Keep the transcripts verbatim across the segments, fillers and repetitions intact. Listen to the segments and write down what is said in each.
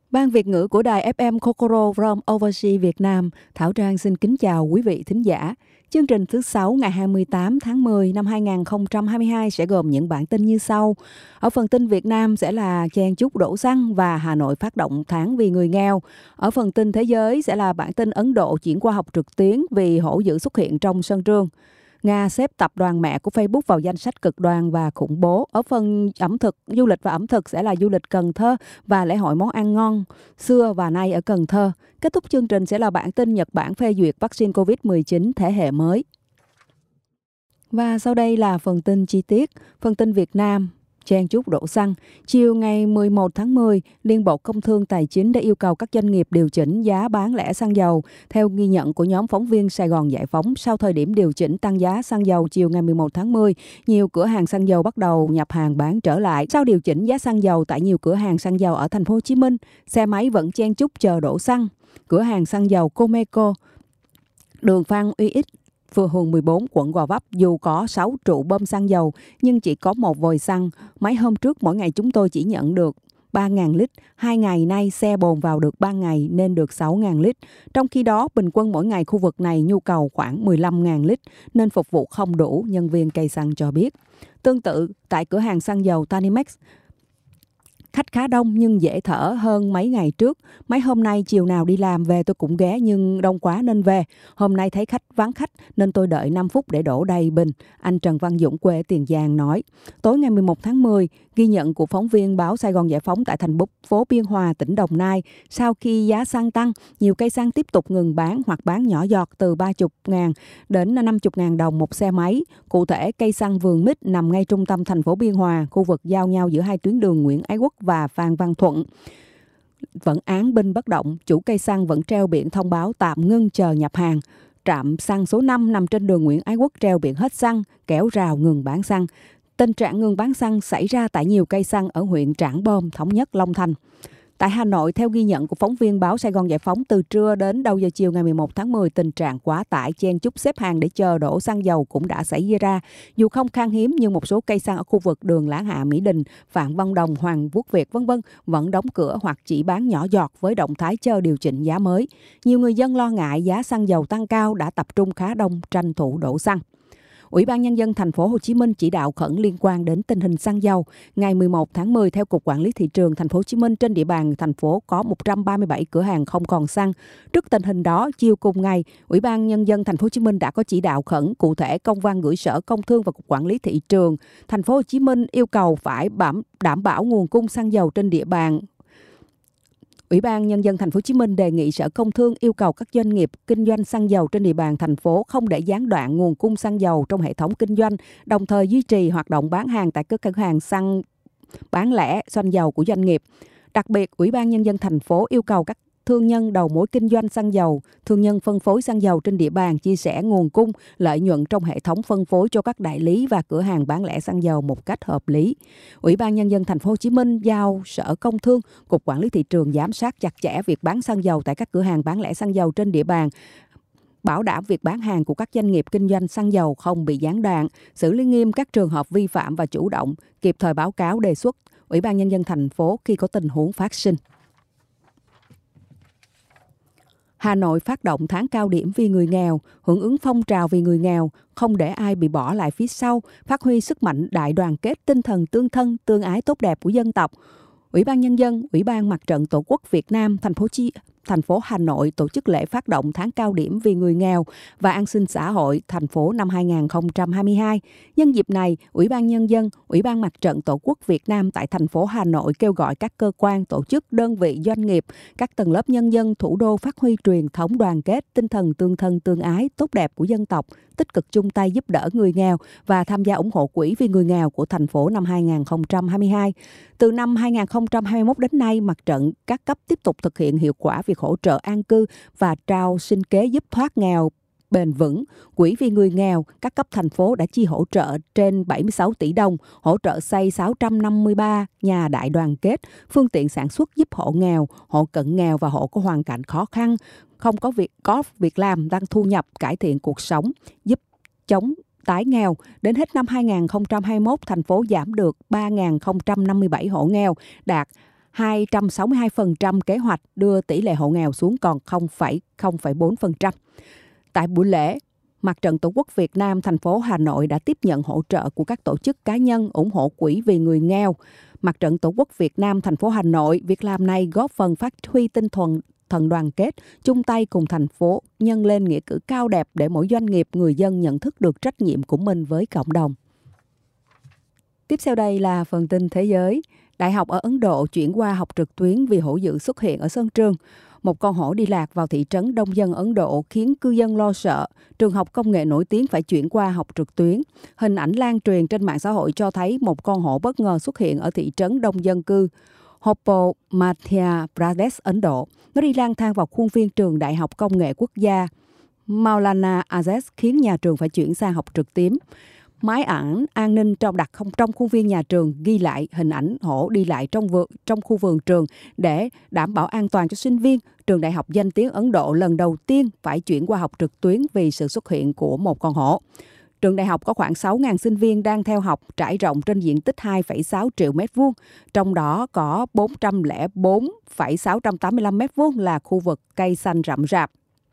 Ban Việt ngữ của đài ép em Kokoro from Overseas Việt Nam, Thảo Trang xin kính chào quý vị thính giả. Chương trình thứ sáu ngày hai mươi tám tháng mười năm hai nghìn không trăm hai mươi hai sẽ gồm những bản tin như sau. Ở phần tin Việt Nam sẽ là chen chúc đổ xăng và Hà Nội phát động tháng vì người nghèo. Ở phần tin thế giới sẽ là bản tin Ấn Độ chuyển qua học trực tuyến vì hổ dữ xuất hiện trong sân trường. Nga xếp tập đoàn mẹ của Facebook vào danh sách cực đoan và khủng bố. Ở phần ẩm thực, du lịch và ẩm thực sẽ là du lịch Cần Thơ và lễ hội món ăn ngon xưa và nay ở Cần Thơ. Kết thúc chương trình sẽ là bản tin Nhật Bản phê duyệt vaccine covid mười chín thế hệ mới. Và sau đây là phần tin chi tiết. Phần tin Việt Nam. Chen chúc đổ xăng. Chiều ngày mười một tháng mười, Liên Bộ Công Thương Tài chính đã yêu cầu các doanh nghiệp điều chỉnh giá bán lẻ xăng dầu. Theo ghi nhận của nhóm phóng viên Sài Gòn Giải Phóng, sau thời điểm điều chỉnh tăng giá xăng dầu chiều ngày mười một tháng mười, nhiều cửa hàng xăng dầu bắt đầu nhập hàng bán trở lại. Sau điều chỉnh giá xăng dầu tại nhiều cửa hàng xăng dầu ở thành phố Hồ Chí Minh, xe máy vẫn chen chúc chờ đổ xăng. Cửa hàng xăng dầu Comeco, đường Phan Uy Ích, phường mười bốn, quận Gò Vấp, dù có sáu trụ bơm xăng dầu nhưng chỉ có một vòi xăng. Mấy hôm trước mỗi ngày chúng tôi chỉ nhận được ba nghìn lít. Hai ngày nay xe bồn vào được ba ngày nên được sáu nghìn lít. Trong khi đó, bình quân mỗi ngày khu vực này nhu cầu khoảng mười lăm nghìn lít nên phục vụ không đủ, nhân viên cây xăng cho biết. Tương tự, tại cửa hàng xăng dầu Tanimex, khách khá đông nhưng dễ thở hơn mấy ngày trước. Mấy hôm nay chiều nào đi làm về tôi cũng ghé nhưng đông quá nên về. Hôm nay thấy khách vắng khách nên tôi đợi năm phút để đổ đầy bình. Anh Trần Văn Dũng quê Tiền Giang nói. Tối ngày mười một tháng mười, ghi nhận của phóng viên báo Sài Gòn Giải Phóng tại thành phố Biên Hòa, tỉnh Đồng Nai. Sau khi giá xăng tăng, nhiều cây xăng tiếp tục ngừng bán hoặc bán nhỏ giọt từ ba mươi ngàn đến năm mươi ngàn đồng một xe máy. Cụ thể, cây xăng Vườn Mít nằm ngay trung tâm thành phố Biên Hòa, khu vực giao nhau giữa hai tuyến đường Nguyễn Ái Quốc và Phan Văn Thuận. Vẫn án binh bất động, chủ cây xăng vẫn treo biển thông báo tạm ngưng chờ nhập hàng. Trạm xăng số năm nằm trên đường Nguyễn Ái Quốc treo biển hết xăng, kéo rào ngừng bán xăng. Tình trạng ngừng bán xăng xảy ra tại nhiều cây xăng ở huyện Trảng Bom, Thống Nhất, Long Thành. Tại Hà Nội, theo ghi nhận của phóng viên báo Sài Gòn Giải Phóng, từ trưa đến đầu giờ chiều ngày mười một tháng mười, tình trạng quá tải chen chúc xếp hàng để chờ đổ xăng dầu cũng đã xảy ra. Dù không khan hiếm nhưng một số cây xăng ở khu vực đường Láng Hạ, Mỹ Đình, Phạm Văn Đồng, Hoàng Quốc Việt vân vân vẫn đóng cửa hoặc chỉ bán nhỏ giọt với động thái chờ điều chỉnh giá mới. Nhiều người dân lo ngại giá xăng dầu tăng cao đã tập trung khá đông tranh thủ đổ xăng. Ủy ban Nhân dân thành phố Hồ Chí Minh chỉ đạo khẩn liên quan đến tình hình xăng dầu. Ngày mười một tháng mười, theo Cục Quản lý Thị trường thành phố Hồ Chí Minh, trên địa bàn thành phố có một trăm ba mươi bảy cửa hàng không còn xăng. Trước tình hình đó, chiều cùng ngày, Ủy ban Nhân dân thành phố Hồ Chí Minh đã có chỉ đạo khẩn, cụ thể công văn gửi Sở Công Thương và Cục Quản lý Thị trường thành phố Hồ Chí Minh yêu cầu phải đảm bảo nguồn cung xăng dầu trên địa bàn. Ủy ban Nhân dân thành phố Hồ Chí Minh đề nghị Sở Công Thương yêu cầu các doanh nghiệp kinh doanh xăng dầu trên địa bàn thành phố không để gián đoạn nguồn cung xăng dầu trong hệ thống kinh doanh, đồng thời duy trì hoạt động bán hàng tại các cửa hàng xăng bán lẻ xăng dầu của doanh nghiệp. Đặc biệt, Ủy ban Nhân dân thành phố yêu cầu các thương nhân đầu mối kinh doanh xăng dầu, thương nhân phân phối xăng dầu trên địa bàn chia sẻ nguồn cung, lợi nhuận trong hệ thống phân phối cho các đại lý và cửa hàng bán lẻ xăng dầu một cách hợp lý. Ủy ban Nhân dân thành phố Hồ Chí Minh giao Sở Công Thương, Cục Quản lý Thị trường giám sát chặt chẽ việc bán xăng dầu tại các cửa hàng bán lẻ xăng dầu trên địa bàn, bảo đảm việc bán hàng của các doanh nghiệp kinh doanh xăng dầu không bị gián đoạn, xử lý nghiêm các trường hợp vi phạm và chủ động kịp thời báo cáo đề xuất Ủy ban Nhân dân thành phố khi có tình huống phát sinh. Hà Nội phát động tháng cao điểm vì người nghèo, hưởng ứng phong trào vì người nghèo, không để ai bị bỏ lại phía sau, phát huy sức mạnh đại đoàn kết, tinh thần tương thân, tương ái tốt đẹp của dân tộc. Ủy ban Nhân dân, Ủy ban Mặt trận Tổ quốc Việt Nam, thành phố Chi thành phố Hà Nội tổ chức lễ phát động tháng cao điểm vì người nghèo và an sinh xã hội thành phố năm hai nghìn không trăm hai mươi hai. Nhân dịp này, Ủy ban Nhân dân, Ủy ban Mặt trận Tổ quốc Việt Nam tại thành phố Hà Nội kêu gọi các cơ quan, tổ chức, đơn vị, doanh nghiệp, các tầng lớp nhân dân thủ đô phát huy truyền thống đoàn kết, tinh thần tương thân tương ái tốt đẹp của dân tộc, tích cực chung tay giúp đỡ người nghèo và tham gia ủng hộ quỹ vì người nghèo của thành phố năm hai nghìn không trăm hai mươi hai. Từ năm hai nghìn không trăm hai mươi mốt đến nay, mặt trận các cấp tiếp tục thực hiện hiệu quả việc hỗ trợ an cư và trao sinh kế giúp thoát nghèo bền vững. Quỹ vì người nghèo, các cấp thành phố đã chi hỗ trợ trên bảy mươi sáu tỷ đồng, hỗ trợ xây sáu trăm năm mươi ba nhà đại đoàn kết, phương tiện sản xuất giúp hộ nghèo, hộ cận nghèo và hộ có hoàn cảnh khó khăn, không có việc có việc làm, tăng thu nhập, cải thiện cuộc sống, giúp chống tái nghèo. Đến hết năm hai nghìn không trăm hai mươi mốt, thành phố giảm được ba nghìn không trăm năm mươi bảy hộ nghèo, đạt hai trăm sáu mươi hai phần trăm kế hoạch đưa tỷ lệ hộ nghèo xuống còn không phẩy không bốn phần trăm. Tại buổi lễ, Mặt trận Tổ quốc Việt Nam thành phố Hà Nội đã tiếp nhận hỗ trợ của các tổ chức cá nhân ủng hộ quỹ vì người nghèo. Mặt trận Tổ quốc Việt Nam thành phố Hà Nội, việc làm này góp phần phát huy tinh thần thần đoàn kết, chung tay cùng thành phố nhân lên nghĩa cử cao đẹp để mỗi doanh nghiệp, người dân nhận thức được trách nhiệm của mình với cộng đồng. Tiếp theo đây là phần tin thế giới. Đại học ở Ấn Độ chuyển qua học trực tuyến vì hổ dữ xuất hiện ở sân trường. Một con hổ đi lạc vào thị trấn đông dân Ấn Độ khiến cư dân lo sợ. Trường học công nghệ nổi tiếng phải chuyển qua học trực tuyến. Hình ảnh lan truyền trên mạng xã hội cho thấy một con hổ bất ngờ xuất hiện ở thị trấn đông dân cư Hoppo, Madhya Pradesh, Ấn Độ. Nó đi lang thang vào khuôn viên trường Đại học Công nghệ Quốc gia Maulana Azad khiến nhà trường phải chuyển sang học trực tuyến. Máy ảnh an ninh trong đặt không trong khuôn viên nhà trường ghi lại hình ảnh hổ đi lại trong vườn trong khu vườn trường để đảm bảo an toàn cho sinh viên. Trường Đại học danh tiếng Ấn Độ lần đầu tiên phải chuyển qua học trực tuyến vì sự xuất hiện của một con hổ. Trường đại học có khoảng sáu nghìn sinh viên đang theo học trải rộng trên diện tích hai phẩy sáu triệu mét vuông, trong đó có bốn trăm lẻ bốn phẩy sáu trăm tám mươi lăm mét vuông là khu vực cây xanh rậm rạp.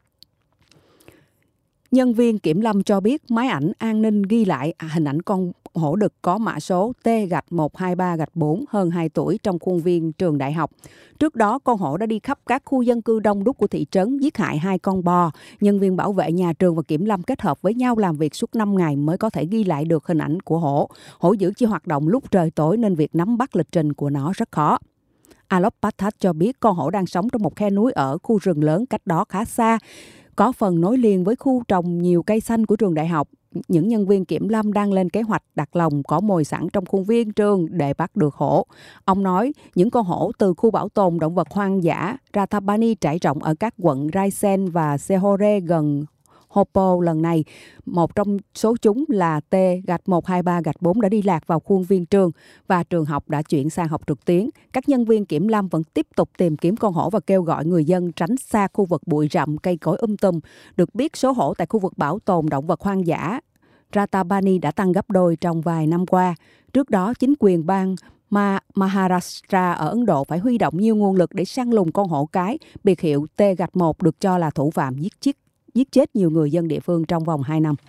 Nhân viên kiểm lâm cho biết máy ảnh an ninh ghi lại hình ảnh con hổ đực có mã số T một hai ba bốn hơn hai tuổi trong khuôn viên trường đại học. Trước đó, con hổ đã đi khắp các khu dân cư đông đúc của thị trấn, giết hại hai con bò. Nhân viên bảo vệ nhà trường và kiểm lâm kết hợp với nhau làm việc suốt năm ngày mới có thể ghi lại được hình ảnh của hổ. Hổ dữ chỉ hoạt động lúc trời tối nên việc nắm bắt lịch trình của nó rất khó. Alok Pathak cho biết con hổ đang sống trong một khe núi ở khu rừng lớn cách đó khá xa, có phần nối liền với khu trồng nhiều cây xanh của trường đại học. Những nhân viên kiểm lâm đang lên kế hoạch đặt lồng cỏ mồi sẵn trong khuôn viên trường để bắt được hổ. Ông nói những con hổ từ khu bảo tồn động vật hoang dã Rathabani trải rộng ở các quận Raisen và Sehore gần Hoppo lần này. Một trong số chúng là T một hai ba bốn đã đi lạc vào khuôn viên trường và trường học đã chuyển sang học trực tuyến. Các nhân viên kiểm lâm vẫn tiếp tục tìm kiếm con hổ và kêu gọi người dân tránh xa khu vực bụi rậm, cây cối um tùm. Được biết số hổ tại khu vực bảo tồn động vật hoang dã Rathabani đã tăng gấp đôi trong vài năm qua. Trước đó, chính quyền bang Ma Maharashtra ở Ấn Độ phải huy động nhiều nguồn lực để săn lùng con hổ cái biệt hiệu T một được cho là thủ phạm giết chết giết chết nhiều người dân địa phương trong vòng hai năm.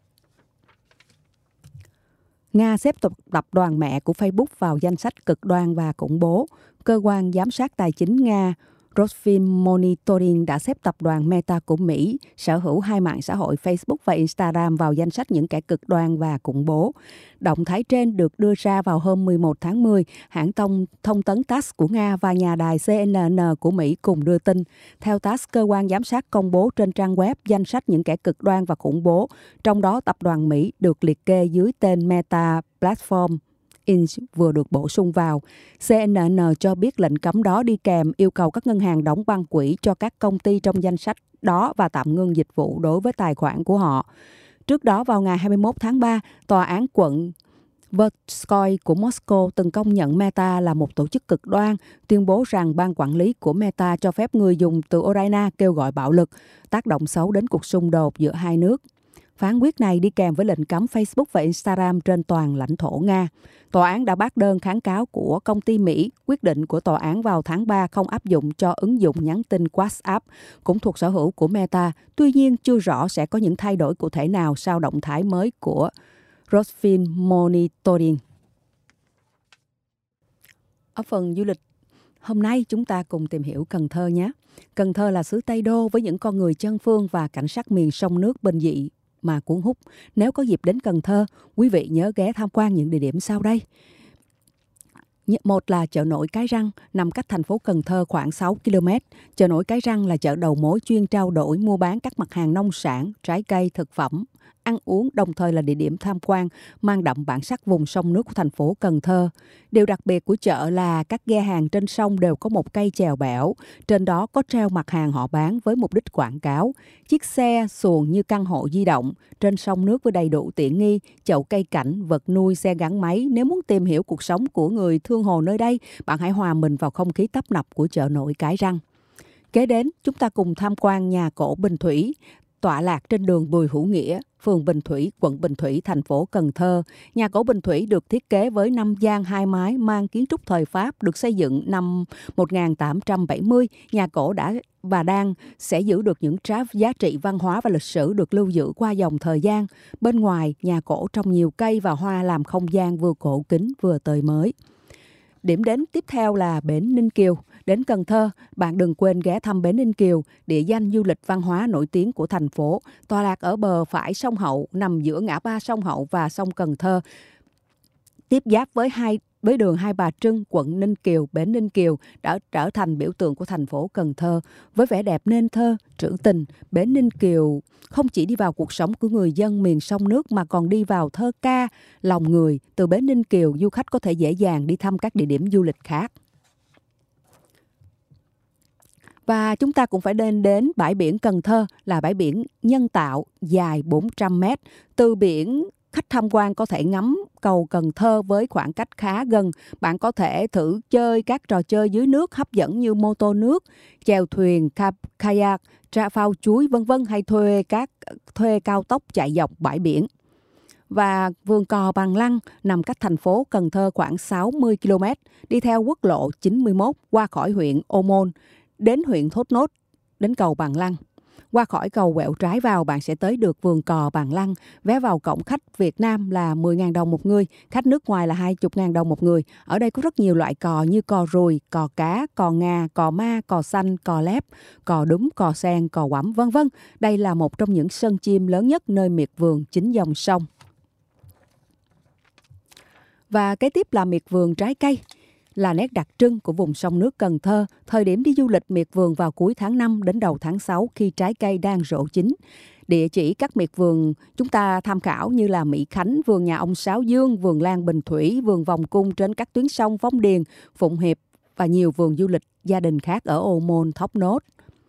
Nga xếp tập đoàn mẹ của Facebook vào danh sách cực đoan và khủng bố. Cơ quan giám sát tài chính Nga Rosfinmonitoring đã xếp tập đoàn Meta của Mỹ, sở hữu hai mạng xã hội Facebook và Instagram vào danh sách những kẻ cực đoan và khủng bố. Động thái trên được đưa ra vào hôm mười một tháng mười, hãng thông, thông tấn tát ét của Nga và nhà đài C N N của Mỹ cùng đưa tin. Theo tát ét, cơ quan giám sát công bố trên trang web danh sách những kẻ cực đoan và khủng bố, trong đó tập đoàn Mỹ được liệt kê dưới tên Meta Platform Incorporated vừa được bổ sung vào. C N N cho biết lệnh cấm đó đi kèm yêu cầu các ngân hàng đóng băng quỹ cho các công ty trong danh sách đó và tạm ngưng dịch vụ đối với tài khoản của họ. Trước đó vào ngày hai mươi mốt tháng ba, Tòa án quận Verskoy của Moscow từng công nhận Meta là một tổ chức cực đoan, tuyên bố rằng ban quản lý của Meta cho phép người dùng từ Ukraine kêu gọi bạo lực, tác động xấu đến cuộc xung đột giữa hai nước. Phán quyết này đi kèm với lệnh cấm Facebook và Instagram trên toàn lãnh thổ Nga. Tòa án đã bác đơn kháng cáo của công ty Mỹ. Quyết định của tòa án vào tháng ba không áp dụng cho ứng dụng nhắn tin WhatsApp, cũng thuộc sở hữu của Meta. Tuy nhiên, chưa rõ sẽ có những thay đổi cụ thể nào sau động thái mới của Rosfinmonitoring. Ở phần du lịch hôm nay, chúng ta cùng tìm hiểu Cần Thơ nhé. Cần Thơ là xứ Tây Đô với những con người chân phương và cảnh sắc miền sông nước bình dị mà cuốn hút. Nếu có dịp đến Cần Thơ, quý vị nhớ ghé tham quan những địa điểm sau đây. Một là chợ nổi Cái Răng, nằm cách thành phố Cần Thơ khoảng sáu ki lô mét. Chợ nổi Cái Răng là chợ đầu mối chuyên trao đổi mua bán các mặt hàng nông sản, trái cây, thực phẩm, ăn uống, đồng thời là địa điểm tham quan mang đậm bản sắc vùng sông nước của thành phố Cần Thơ. Điều đặc biệt của chợ là các ghe hàng trên sông đều có một cây chèo bẻo, trên đó có treo mặt hàng họ bán với mục đích quảng cáo. Chiếc xe xuồng như căn hộ di động trên sông nước với đầy đủ tiện nghi, chậu cây cảnh, vật nuôi, xe gắn máy. Nếu muốn tìm hiểu cuộc sống của người thương hồ nơi đây, bạn hãy hòa mình vào không khí tấp nập của chợ nổi Cái Răng. Kế đến, chúng ta cùng tham quan nhà cổ Bình Thủy. tọa lạc trên đường Bùi Hữu Nghĩa, phường Bình Thủy, quận Bình Thủy, thành phố Cần Thơ. Nhà cổ Bình Thủy được thiết kế với năm gian hai mái mang kiến trúc thời Pháp, được xây dựng năm một nghìn tám trăm bảy mươi. Nhà cổ đã và đang sẽ giữ được những giá trị văn hóa và lịch sử được lưu giữ qua dòng thời gian. Bên ngoài, nhà cổ trồng nhiều cây và hoa làm không gian vừa cổ kính vừa tươi mới. Điểm đến tiếp theo là bến Ninh Kiều. Đến Cần Thơ, bạn đừng quên ghé thăm bến Ninh Kiều, địa danh du lịch văn hóa nổi tiếng của thành phố. Tọa lạc ở bờ phải sông Hậu, nằm giữa ngã ba sông Hậu và sông Cần Thơ. Tiếp giáp với hai với đường Hai Bà Trưng, quận Ninh Kiều, bến Ninh Kiều đã trở thành biểu tượng của thành phố Cần Thơ. Với vẻ đẹp nên thơ, trữ tình, bến Ninh Kiều không chỉ đi vào cuộc sống của người dân miền sông nước mà còn đi vào thơ ca, lòng người. Từ bến Ninh Kiều, du khách có thể dễ dàng đi thăm các địa điểm du lịch khác. Và chúng ta cũng phải đến đến bãi biển Cần Thơ, là bãi biển nhân tạo dài bốn trăm mét. Từ biển, khách tham quan có thể ngắm cầu Cần Thơ với khoảng cách khá gần. Bạn có thể thử chơi các trò chơi dưới nước hấp dẫn như mô tô nước, chèo thuyền, kayak, tra phao chuối vân vân, hay thuê các thuê cao tốc chạy dọc bãi biển. Và vườn cò Bằng Lăng nằm cách thành phố Cần Thơ khoảng sáu mươi ki lô mét, đi theo quốc lộ chín mươi mốt qua khỏi huyện Ô Môn đến huyện Thốt Nốt, đến cầu Bằng Lăng. Qua khỏi cầu quẹo trái vào, bạn sẽ tới được vườn cò Bằng Lăng. Vé vào cổng khách Việt Nam là mười nghìn đồng một người, khách nước ngoài là hai mươi nghìn đồng một người. Ở đây có rất nhiều loại cò như cò ruồi, cò cá, cò ngà, cò ma, cò xanh, cò lép, cò đúng, cò sen, cò quẫm, vân vân. Đây là một trong những sân chim lớn nhất nơi miệt vườn chính dòng sông. Và kế tiếp là miệt vườn trái cây, là nét đặc trưng của vùng sông nước Cần Thơ. Thời điểm đi du lịch miệt vườn vào cuối tháng năm đến đầu tháng sáu khi trái cây đang rộ chín. Địa chỉ các miệt vườn chúng ta tham khảo như là Mỹ Khánh, vườn nhà ông Sáu Dương, vườn Lan Bình Thủy, vườn Vòng Cung trên các tuyến sông Phong Điền, Phụng Hiệp và nhiều vườn du lịch gia đình khác ở Ô Môn, Thốt Nốt.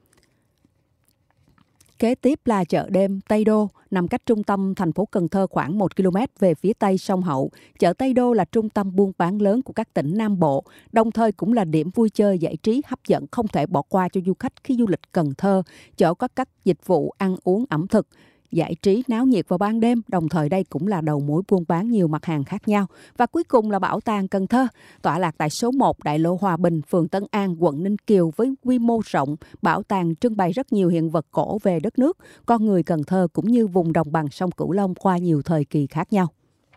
Kế tiếp là chợ đêm Tây Đô, nằm cách trung tâm thành phố Cần Thơ khoảng một ki lô mét về phía tây sông Hậu. Chợ Tây Đô là trung tâm buôn bán lớn của các tỉnh Nam Bộ, đồng thời cũng là điểm vui chơi giải trí hấp dẫn không thể bỏ qua cho du khách khi du lịch Cần Thơ. Chợ có các dịch vụ ăn uống ẩm thực, giải trí náo nhiệt vào ban đêm, đồng thời đây cũng là đầu mối buôn bán nhiều mặt hàng khác nhau. Và cuối cùng là Bảo tàng Cần Thơ, tọa lạc tại số một Đại lộ Hòa Bình, phường Tân An, quận Ninh Kiều với quy mô rộng. Bảo tàng trưng bày rất nhiều hiện vật cổ về đất nước, con người Cần Thơ cũng như vùng đồng bằng sông Cửu Long qua nhiều thời kỳ khác nhau.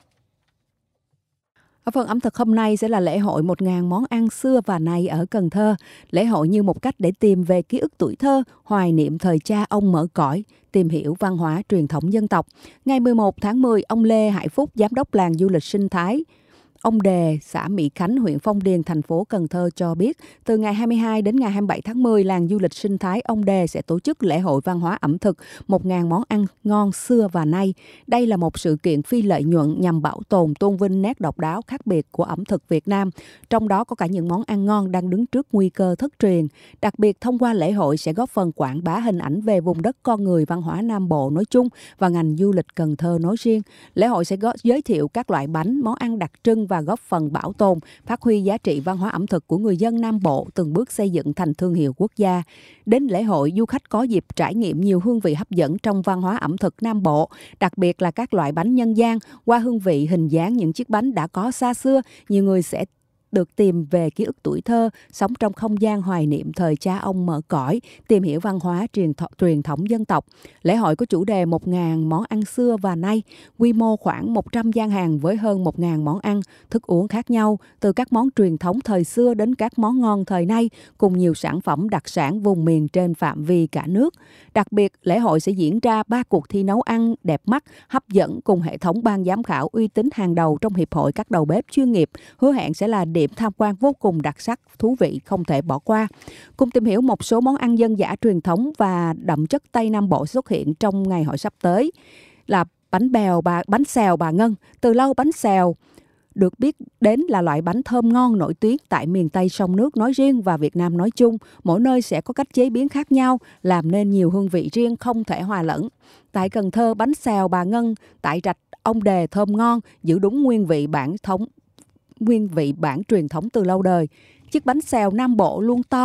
Ở phần ẩm thực hôm nay sẽ là lễ hội một nghìn món ăn xưa và nay ở Cần Thơ. Lễ hội như một cách để tìm về ký ức tuổi thơ, hoài niệm thời cha ông mở cõi, tìm hiểu văn hóa truyền thống dân tộc. Ngày mười một tháng mười, ông Lê Hải Phúc, giám đốc làng du lịch sinh thái Ông Đề, xã Mỹ Khánh, huyện Phong Điền, thành phố Cần Thơ cho biết, từ ngày hai mươi hai đến ngày hai mươi bảy tháng mười, làng du lịch sinh thái Ông Đề sẽ tổ chức lễ hội văn hóa ẩm thực một nghìn món ăn ngon xưa và nay. Đây là một sự kiện phi lợi nhuận nhằm bảo tồn, tôn vinh nét độc đáo khác biệt của ẩm thực Việt Nam, trong đó có cả những món ăn ngon đang đứng trước nguy cơ thất truyền. Đặc biệt, thông qua lễ hội sẽ góp phần quảng bá hình ảnh về vùng đất con người văn hóa Nam Bộ nói chung và ngành du lịch Cần Thơ nói riêng. Lễ hội sẽ giới thiệu các loại bánh, món ăn đặc trưng và góp phần bảo tồn, phát huy giá trị văn hóa ẩm thực của người dân Nam Bộ, từng bước xây dựng thành thương hiệu quốc gia. Đến lễ hội, du khách có dịp trải nghiệm nhiều hương vị hấp dẫn trong văn hóa ẩm thực Nam Bộ, đặc biệt là các loại bánh nhân gian. Qua hương vị, hình dáng những chiếc bánh đã có xa xưa, nhiều người sẽ được tìm về ký ức tuổi thơ, sống trong không gian hoài niệm thời cha ông mở cõi, tìm hiểu văn hóa truyền, th- truyền thống dân tộc. Lễ hội có chủ đề một nghìn món ăn xưa và nay, quy mô khoảng một trăm gian hàng với hơn một nghìn món ăn, thức uống khác nhau, từ các món truyền thống thời xưa đến các món ngon thời nay, cùng nhiều sản phẩm đặc sản vùng miền trên phạm vi cả nước. Đặc biệt, lễ hội sẽ diễn ra ba cuộc thi nấu ăn đẹp mắt, hấp dẫn cùng hệ thống ban giám khảo uy tín hàng đầu trong Hiệp hội các đầu bếp chuyên nghiệp, hứa hẹn sẽ là điểm tham quan vô cùng đặc sắc, thú vị không thể bỏ qua. Cùng tìm hiểu một số món ăn dân dã truyền thống và đậm chất Tây Nam Bộ xuất hiện trong ngày hội sắp tới là bánh bèo bà bánh xèo bà Ngân. Từ lâu bánh xèo được biết đến là loại bánh thơm ngon nổi tiếng tại miền Tây sông nước nói riêng và Việt Nam nói chung. Mỗi nơi sẽ có cách chế biến khác nhau, làm nên nhiều hương vị riêng không thể hòa lẫn. Tại Cần Thơ, bánh xèo bà Ngân tại rạch Ông Đề thơm ngon, giữ đúng nguyên vị bản thống nguyên vị bản truyền thống từ lâu đời. Chiếc bánh xèo Nam Bộ luôn to,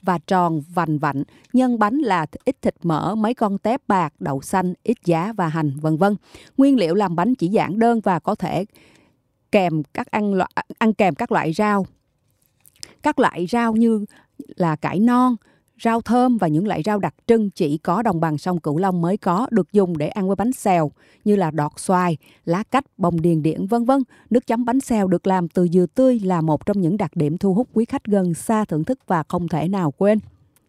và tròn vành vạnh. Nhân bánh là ít thịt mỡ, mấy con tép bạc, đậu xanh, ít giá và hành, vân vân. Nguyên liệu làm bánh chỉ giản đơn và có thể kèm các ăn loại, ăn kèm các loại rau. Các loại rau như là cải non, rau thơm và những loại rau đặc trưng chỉ có đồng bằng sông Cửu Long mới có, được dùng để ăn với bánh xèo như là đọt xoài, lá cách, bông điền điển, vân vân. Nước chấm bánh xèo được làm từ dừa tươi là một trong những đặc điểm thu hút quý khách gần xa thưởng thức và không thể nào quên.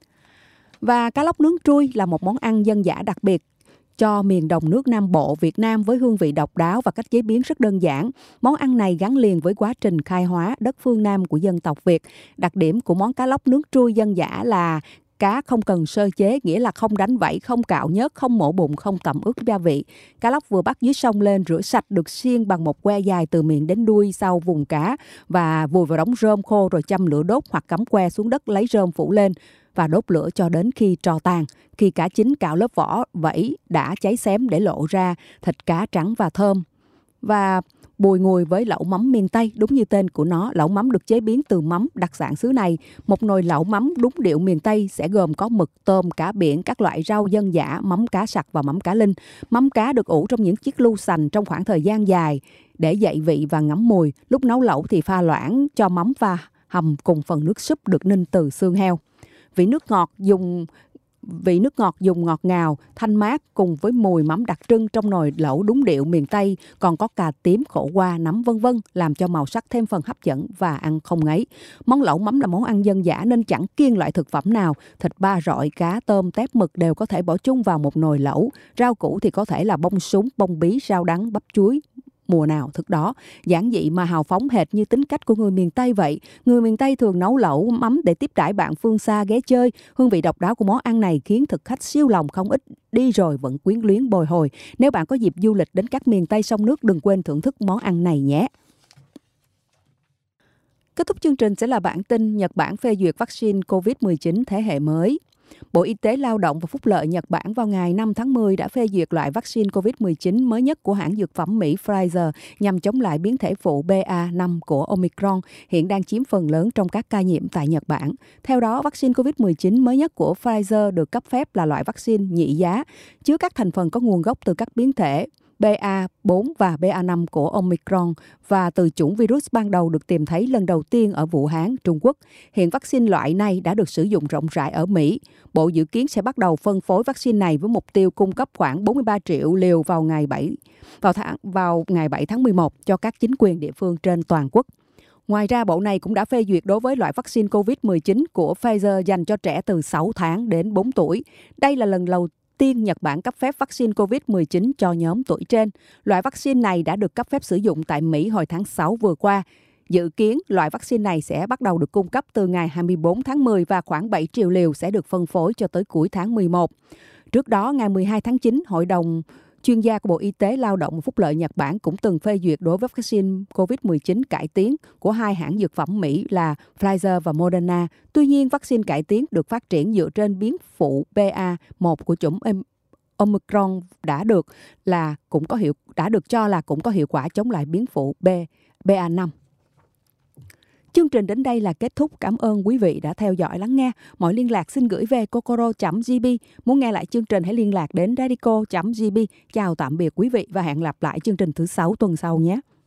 Và cá lóc nướng trui là một món ăn dân dã đặc biệt cho miền đồng nước Nam Bộ Việt Nam với hương vị độc đáo và cách chế biến rất đơn giản. Món ăn này gắn liền với quá trình khai hóa đất phương Nam của dân tộc Việt. Đặc điểm của món cá lóc nướng trui dân dã là cá không cần sơ chế, nghĩa là không đánh vảy, không cạo nhớt, không mổ bụng, không tẩm ướp gia vị. Cá lóc vừa bắt dưới sông lên, rửa sạch, được xiên bằng một que dài từ miệng đến đuôi sau vùng cá và vùi vào đống rơm khô rồi châm lửa đốt hoặc cắm que xuống đất lấy rơm phủ lên và đốt lửa cho đến khi tro tàn. Khi cá chín, cạo lớp vỏ vảy đã cháy xém để lộ ra thịt cá trắng và thơm. Và bùi ngùi với lẩu mắm miền Tây, đúng như tên của nó, lẩu mắm được chế biến từ mắm đặc sản xứ này. Một nồi lẩu mắm đúng điệu miền Tây sẽ gồm có mực, tôm, cá biển, các loại rau dân dã, mắm cá sặc và mắm cá linh. Mắm cá được ủ trong những chiếc lu sành trong khoảng thời gian dài để dậy vị và ngấm mùi. Lúc nấu lẩu thì pha loãng cho mắm và hầm cùng phần nước súp được ninh từ xương heo. Vị nước ngọt dùng Vị nước ngọt dùng ngọt ngào, thanh mát cùng với mùi mắm đặc trưng trong nồi lẩu đúng điệu miền Tây, còn có cà tím, khổ qua, nấm vân vân làm cho màu sắc thêm phần hấp dẫn và ăn không ngấy. Món lẩu mắm là món ăn dân dã nên chẳng kiêng loại thực phẩm nào. Thịt ba rọi, cá, tôm, tép, mực đều có thể bỏ chung vào một nồi lẩu. Rau củ thì có thể là bông súng, bông bí, rau đắng, bắp chuối, mùa nào thức đó. Giản dị mà hào phóng hệt như tính cách của người miền Tây vậy. Người miền Tây thường nấu lẩu mắm để tiếp đãi bạn phương xa ghé chơi. Hương vị độc đáo của món ăn này khiến thực khách siêu lòng không ít, đi rồi vẫn quyến luyến bồi hồi. Nếu bạn có dịp du lịch đến các miền Tây sông nước, đừng quên thưởng thức món ăn này nhé. Kết thúc chương trình sẽ là bản tin Nhật Bản phê duyệt vaccine covid mười chín thế hệ mới. Bộ Y tế Lao động và Phúc lợi Nhật Bản vào ngày năm tháng mười đã phê duyệt loại vaccine covid mười chín mới nhất của hãng dược phẩm Mỹ Pfizer nhằm chống lại biến thể phụ B A năm của Omicron, hiện đang chiếm phần lớn trong các ca nhiễm tại Nhật Bản. Theo đó, vaccine covid mười chín mới nhất của Pfizer được cấp phép là loại vaccine nhị giá, chứa các thành phần có nguồn gốc từ các biến thể B A bốn và B A năm của Omicron và từ chủng virus ban đầu được tìm thấy lần đầu tiên ở Vũ Hán, Trung Quốc. Hiện vaccine loại này đã được sử dụng rộng rãi ở Mỹ. Bộ dự kiến sẽ bắt đầu phân phối vaccine này với mục tiêu cung cấp khoảng bốn mươi ba triệu liều vào ngày bảy vào tháng vào ngày bảy tháng mười một cho các chính quyền địa phương trên toàn quốc. Ngoài ra, bộ này cũng đã phê duyệt đối với loại vaccine covid mười chín của Pfizer dành cho trẻ từ sáu tháng đến bốn tuổi. Đây là lần đầu tiên Nhật Bản cấp phép vaccine covid mười chín cho nhóm tuổi trên. Loại vaccine này đã được cấp phép sử dụng tại Mỹ hồi tháng sáu vừa qua. Dự kiến, loại vaccine này sẽ bắt đầu được cung cấp từ ngày hai mươi bốn tháng mười và khoảng bảy triệu liều sẽ được phân phối cho tới cuối tháng mười một. Trước đó, ngày mười hai tháng chín, Hội đồng chuyên gia của Bộ Y tế Lao động và Phúc lợi Nhật Bản cũng từng phê duyệt đối với vaccine covid mười chín cải tiến của hai hãng dược phẩm Mỹ là Pfizer và Moderna. Tuy nhiên, vaccine cải tiến được phát triển dựa trên biến phụ B A một của chủng Omicron đã được là cũng có hiệu đã được cho là cũng có hiệu quả chống lại biến phụ B B A năm. Chương trình đến đây là kết thúc. Cảm ơn quý vị đã theo dõi lắng nghe. Mọi liên lạc xin gửi về kokoro chấm g b. Muốn nghe lại chương trình hãy liên lạc đến radico chấm g b. Chào tạm biệt quý vị và hẹn gặp lại chương trình thứ sáu tuần sau nhé.